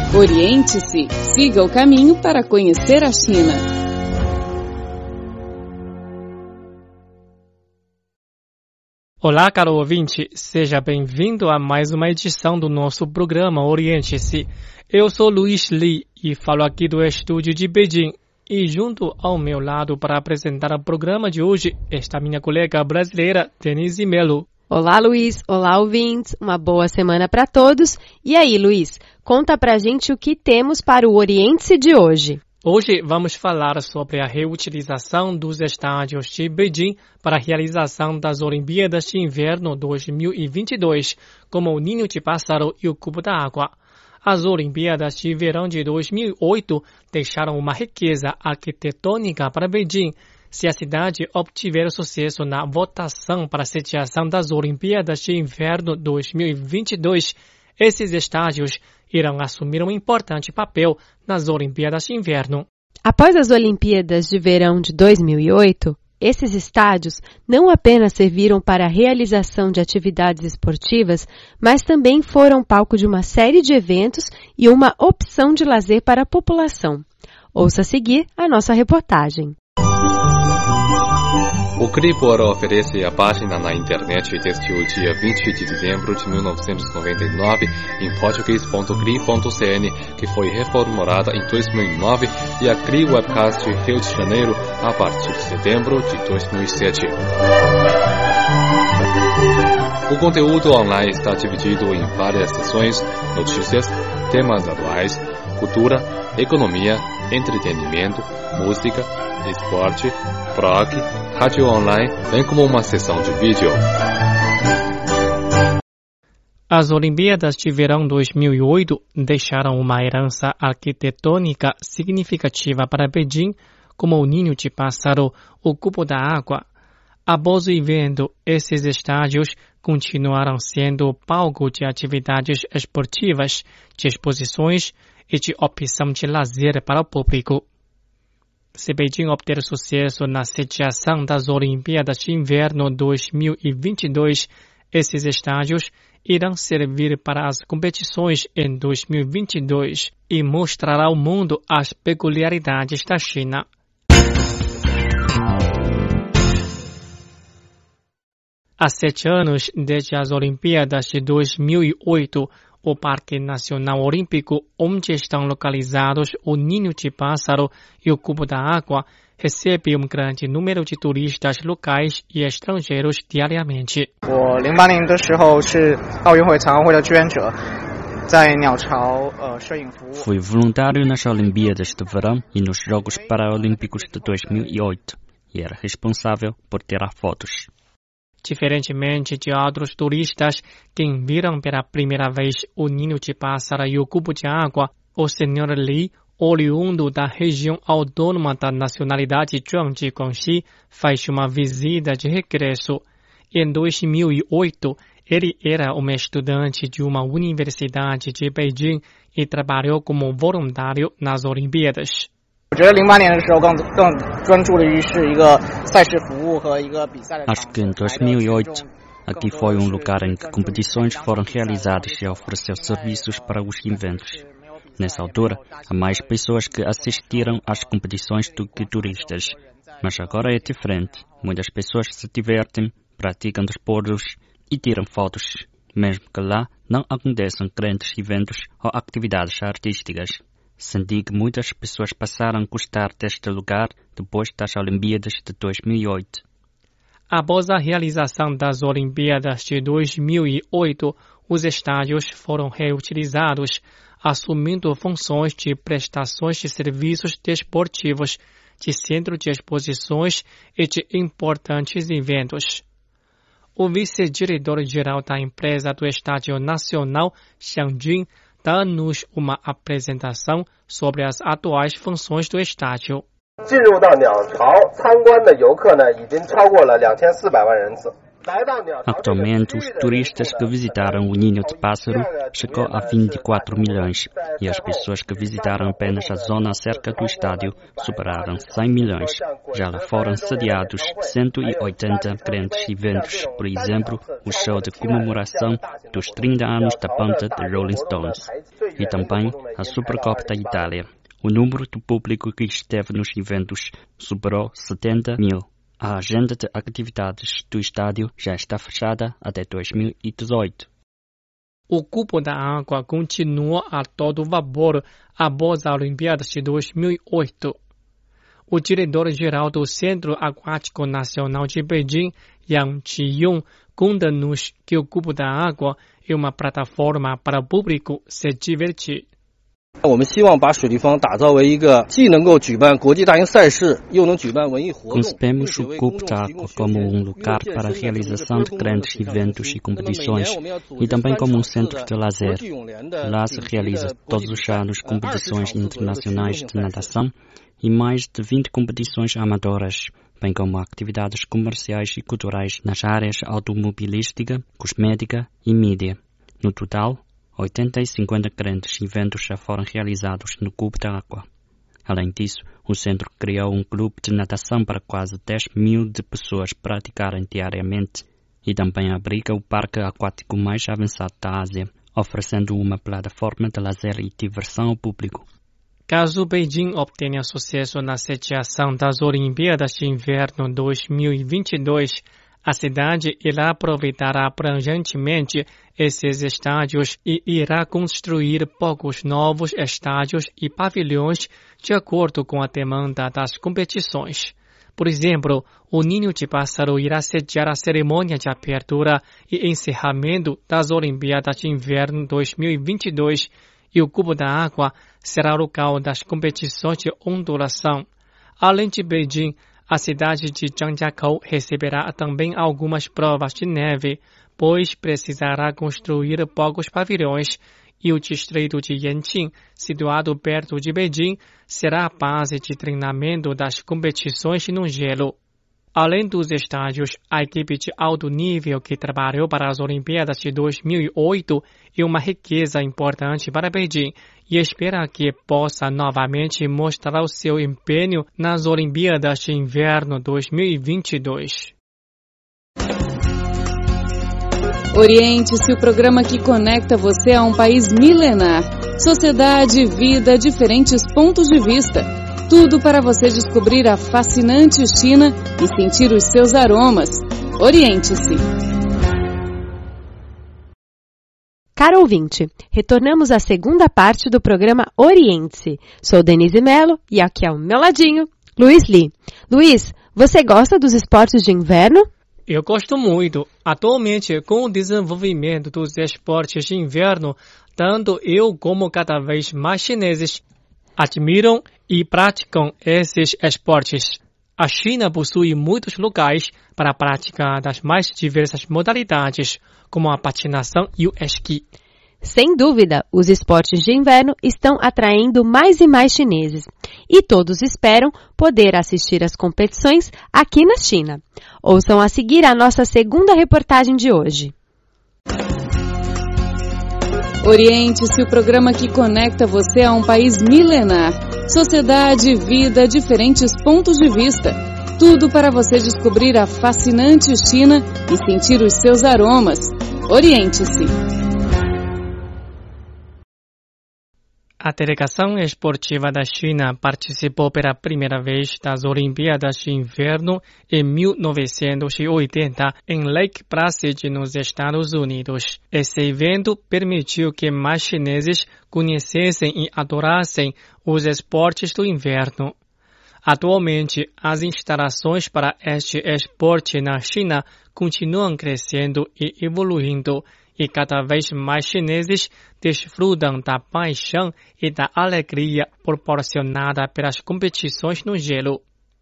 Oriente-se, siga o caminho para conhecer a China. Olá, caro ouvinte, seja bem-vindo a mais uma edição do nosso programa Oriente-se. Eu sou Luiz Li e falo aqui do estúdio de Beijing. E junto ao meu lado para apresentar o programa de hoje está minha colega brasileira, Denise Melo. Olá, Luiz. Olá, ouvintes. Uma boa semana para todos. E aí, Luiz, conta pra gente o que temos para o Oriente-se de hoje. Hoje vamos falar sobre a reutilização dos estádios de Beijing para a realização das Olimpíadas de Inverno 2022, como o Ninho de Pássaro e o Cubo da Água. As Olimpíadas de Verão de 2008 deixaram uma riqueza arquitetônica para Beijing. Se a cidade obtiver sucesso na votação para a sediação das Olimpíadas de Inverno 2022, esses estádios irão assumir um importante papel nas Olimpíadas de Inverno. Após as Olimpíadas de Verão de 2008, esses estádios não apenas serviram para a realização de atividades esportivas, mas também foram palco de uma série de eventos e uma opção de lazer para a população. Ouça a seguir a nossa reportagem. O Cribor oferece a página na internet desde o dia 20 de dezembro de 1999 em português.cri.cn, que foi reformulada em 2009, e a Cri Webcast Rio de Janeiro a partir de setembro de 2007. O conteúdo online está dividido em várias seções: notícias, temas atuais, cultura, economia, entretenimento, música, esporte, blog, rádio online, bem como uma seção de vídeo. As Olimpíadas de Verão 2008 deixaram uma herança arquitetônica significativa para Beijing, como o Ninho de Pássaro, o Cubo da Água. Após o evento, esses estádios continuaram sendo palco de atividades esportivas, de exposições e de opção de lazer para o público. Se Beijing obter sucesso na sediação das Olimpíadas de Inverno 2022, esses estádios irão servir para as competições em 2022 e mostrar ao mundo as peculiaridades da China. Há 7 anos, desde as Olimpíadas de 2008, o Parque Nacional Olímpico, onde estão localizados o Ninho de Pássaro e o Cubo da Água, recebe um grande número de turistas locais e estrangeiros diariamente. Fui voluntário nas Olimpíadas de Verão e nos Jogos Paralímpicos de 2008 e era responsável por tirar fotos. Diferentemente de outros turistas que viram pela primeira vez o Ninho de Pássaro e o Cubo de Água, o Sr. Li, oriundo da região autônoma da nacionalidade Zhuang de Guangxi, faz uma visita de regresso. Em 2008, ele era um estudante de uma universidade de Beijing e trabalhou como voluntário nas Olimpíadas. Acho que em 2008, aqui foi um lugar em que competições foram realizadas e ofereceu serviços para os eventos. Nessa altura, há mais pessoas que assistiram às competições do que turistas. Mas agora é diferente. Muitas pessoas se divertem, praticam desportos e tiram fotos, mesmo que lá não aconteçam grandes eventos ou atividades artísticas. Senti que muitas pessoas passaram a gostar deste lugar depois das Olimpíadas de 2008. Após a realização das Olimpíadas de 2008, os estádios foram reutilizados, assumindo funções de prestações de serviços desportivos, de centro de exposições e de importantes eventos. O vice-diretor-geral da empresa do Estádio Nacional, Xiang Jun, dá-nos uma apresentação sobre as atuais funções do estádio. Atualmente, os turistas que visitaram o Ninho de Pássaro chegou a 24 milhões e as pessoas que visitaram apenas a zona cerca do estádio superaram 100 milhões. Já lá foram sediados 180 grandes eventos, por exemplo, o show de comemoração dos 30 anos da banda de Rolling Stones e também a Supercopa da Itália. O número do público que esteve nos eventos superou 70 mil. A agenda de atividades do estádio já está fechada até 2018. O cubo da água continua a todo vapor após as Olimpíadas de 2008. O diretor-geral do Centro Aquático Nacional de Beijing, Yang Qiyong, conta-nos que o cubo da água é uma plataforma para o público se divertir. 我们希望把水立方打造为一个既能够举办国际大型赛事，又能举办文艺活动。 Concebemos o cubo da água como lugar para a realização de grandes eventos e competições e também como centro de lazer. Lá se realiza todos os anos competições internacionais de natação e mais de 20 competições amadoras, bem como atividades comerciais e culturais nas áreas automobilística, cosmética e mídia. No total, 80 e 50 grandes eventos já foram realizados no cubo da água. Além disso, o centro criou um clube de natação para quase 10 mil de pessoas praticarem diariamente e também abriga o parque aquático mais avançado da Ásia, oferecendo uma plataforma de lazer e diversão ao público. Caso Beijing obtenha sucesso na sediação das Olimpíadas de Inverno 2022, a cidade irá aproveitar abrangentemente esses estádios e irá construir poucos novos estádios e pavilhões de acordo com a demanda das competições. Por exemplo, o Ninho de Pássaro irá sediar a cerimônia de abertura e encerramento das Olimpíadas de Inverno 2022 e o Cubo da Água será o local das competições de ondulação. Além de Beijing, a cidade de Zhangjiakou receberá também algumas provas de neve, pois precisará construir poucos pavilhões, e o distrito de Yanqing, situado perto de Beijing, será a base de treinamento das competições no gelo. Além dos estádios, a equipe de alto nível que trabalhou para as Olimpíadas de 2008 é uma riqueza importante para Beijing e espera que possa novamente mostrar o seu empenho nas Olimpíadas de Inverno 2022. Oriente-se, o programa que conecta você a um país milenar. Sociedade, vida, diferentes pontos de vista. Tudo para você descobrir a fascinante China e sentir os seus aromas. Oriente-se. Caro ouvinte, retornamos à segunda parte do programa Oriente-se. Sou Denise Mello e aqui ao meu ladinho, Luiz Li. Luiz, você gosta dos esportes de inverno? Eu gosto muito. Atualmente, com o desenvolvimento dos esportes de inverno, tanto eu como cada vez mais chineses admiram e praticam esses esportes. A China possui muitos lugares para a prática das mais diversas modalidades, como a patinação e o esqui. Sem dúvida, os esportes de inverno estão atraindo mais e mais chineses. E todos esperam poder assistir às competições aqui na China. Ouçam a seguir a nossa segunda reportagem de hoje. Oriente-se, o programa que conecta você a um país milenar. Sociedade, vida, diferentes pontos de vista. Tudo para você descobrir a fascinante China e sentir os seus aromas. Oriente-se. A delegação esportiva da China participou pela primeira vez das Olimpíadas de Inverno em 1980 em Lake Placid, nos Estados Unidos. Esse evento permitiu que mais chineses conhecessem e adorassem os esportes do inverno. Atualmente, as instalações para este esporte na China continuam crescendo e evoluindo, e cada vez mais chineses desfrutam da paixão e da alegria proporcionada pelas competições no gelo.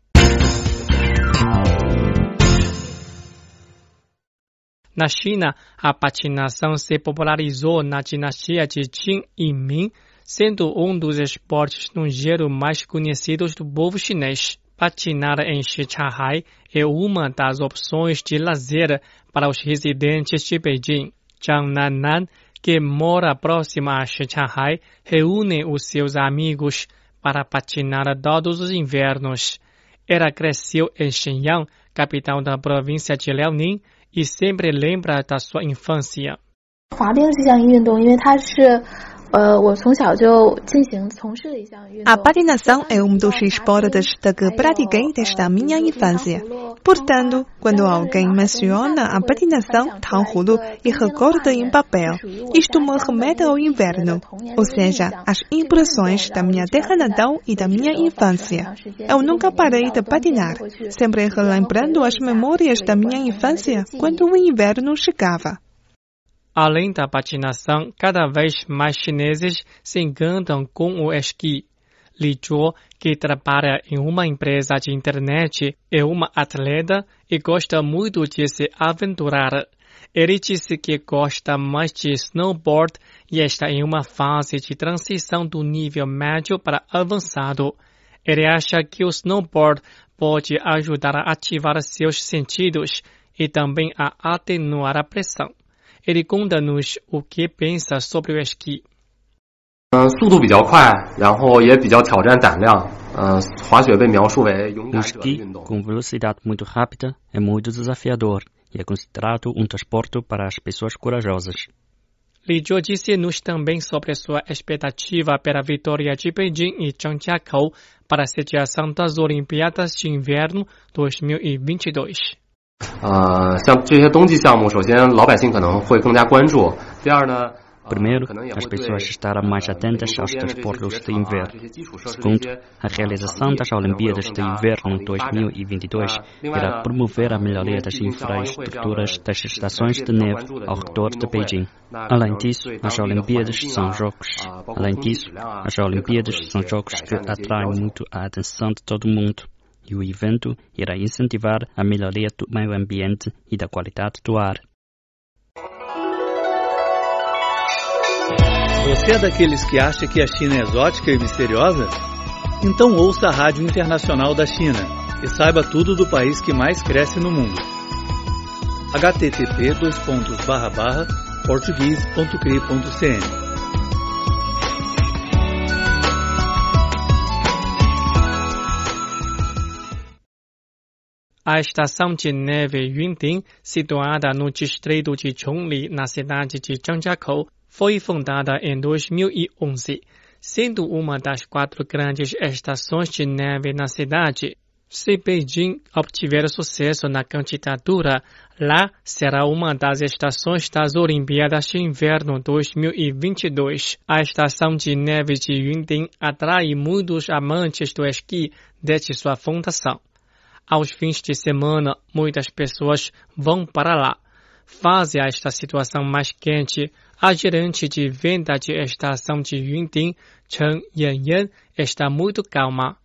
Na China, a patinação se popularizou na dinastia de Qin e Ming, sendo um dos esportes no gelo mais conhecidos do povo chinês. patinar em Shichahai é uma das opções de lazer para os residentes de Beijing. Zhang Nannan, que mora próximo a Shichahai, reúne os seus amigos para patinar todos os invernos. Ela cresceu em Shenyang, capital da província de Liaoning, e sempre lembra da sua infância. A patinação é um dos esportes que pratiquei desde a minha infância. Portanto, quando alguém menciona a patinação, Tanghudu e recorda em papel, isto me remete ao inverno, ou seja, às impressões da minha terra natal e da minha infância. Eu nunca parei de patinar, sempre relembrando as memórias da minha infância quando o inverno chegava. Além da patinação, cada vez mais chineses se encantam com o esqui. Li Zhuo, que trabalha em uma empresa de internet, é uma atleta e gosta muito de se aventurar. Ele disse que gosta mais de snowboard e está em uma fase de transição do nível médio para avançado. Ele acha que o snowboard pode ajudar a ativar seus sentidos e também a atenuar a pressão. Ele conta-nos o que pensa sobre o esqui. 速度比较快，然后也比较挑战胆量。滑雪被描述为勇敢者的运动。 com velocidade muito rápida é muito desafiador e é considerado um desporto para as pessoas corajosas. Li Zhuo disse-nos também sobre sua expectativa pela vitória de Beijing e Zhangjiakou para a sediação das Olimpíadas de Inverno 2022. 像这些冬季项目，首先老百姓可能会更加关注。第二呢， Primeiro, as pessoas estarão mais atentas aos desportos de inverno. Segundo, a realização das Olimpíadas de Inverno 2022 irá promover a melhoria das infraestruturas das estações de neve ao redor de Beijing. Além disso, as Olimpíadas são jogos que atraem muito a atenção de todo mundo. E o evento irá incentivar a melhoria do meio ambiente e da qualidade do ar. Você é daqueles que acha que a China é exótica e misteriosa? Então ouça a Rádio Internacional da China e saiba tudo do país que mais cresce no mundo. http://português.cri.cn A estação de neve Yunting, situada no distrito de Chongli, na cidade de Zhangjiakou, foi fundada em 2011. Sendo uma das 4 grandes estações de neve na cidade, se Beijing obtiver sucesso na candidatura, lá será uma das estações das Olimpíadas de Inverno 2022. A estação de neve de Yunting atrai muitos amantes do esqui desde sua fundação. Aos fins de semana, muitas pessoas vão para lá. Face a esta situação mais quente, a gerente de venda de estação de Yunting, Chen Yanyan, está muito calma.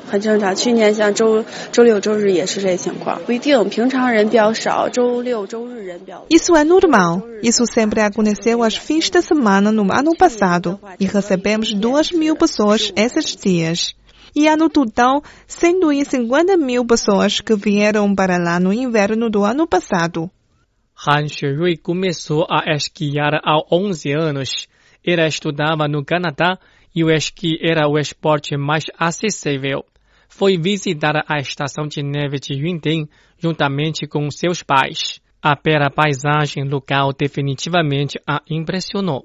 Isso é normal. Isso sempre aconteceu aos fins de semana no ano passado e recebemos 2.000 pessoas esses dias. E há no total 150.000 pessoas que vieram para lá no inverno do ano passado. Han Xuerui começou a esquiar aos 11 anos. Ela estudava no Canadá e o esqui era o esporte mais acessível. Foi visitar a estação de neve de Yunting juntamente com seus pais. A bela paisagem local definitivamente a impressionou.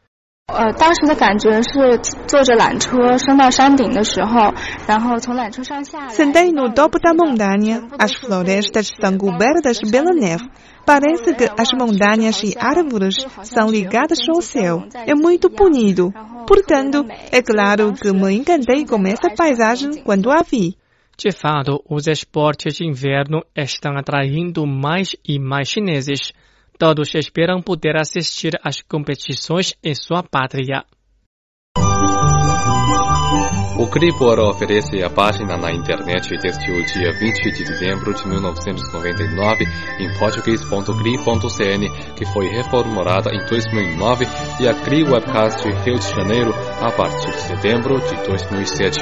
Sentei no topo da montanha. As florestas são cobertas pela neve. Parece que as montanhas e árvores são ligadas ao céu. É muito bonito. Portanto, é claro que me encantei com essa paisagem quando a vi. De fato, os esportes de inverno estão atraindo mais e mais chineses. Todos esperam poder assistir às competições em sua pátria. O Cripor oferece a página na internet desde o dia 20 de dezembro de 1999 em português.cri.cn, que foi reformulada em 2009, e a Cri Webcast Rio de Janeiro a partir de setembro de 2007.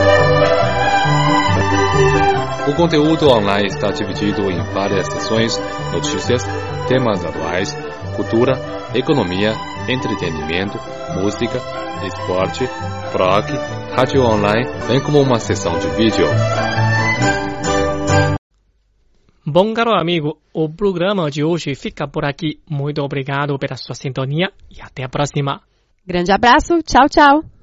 O conteúdo online está dividido em várias seções: notícias, temas atuais, cultura, economia, entretenimento, música, esporte, blog, rádio online, bem como uma seção de vídeo. Bom, caro amigo, o programa de hoje fica por aqui. Muito obrigado pela sua sintonia e até a próxima. Grande abraço, tchau, tchau.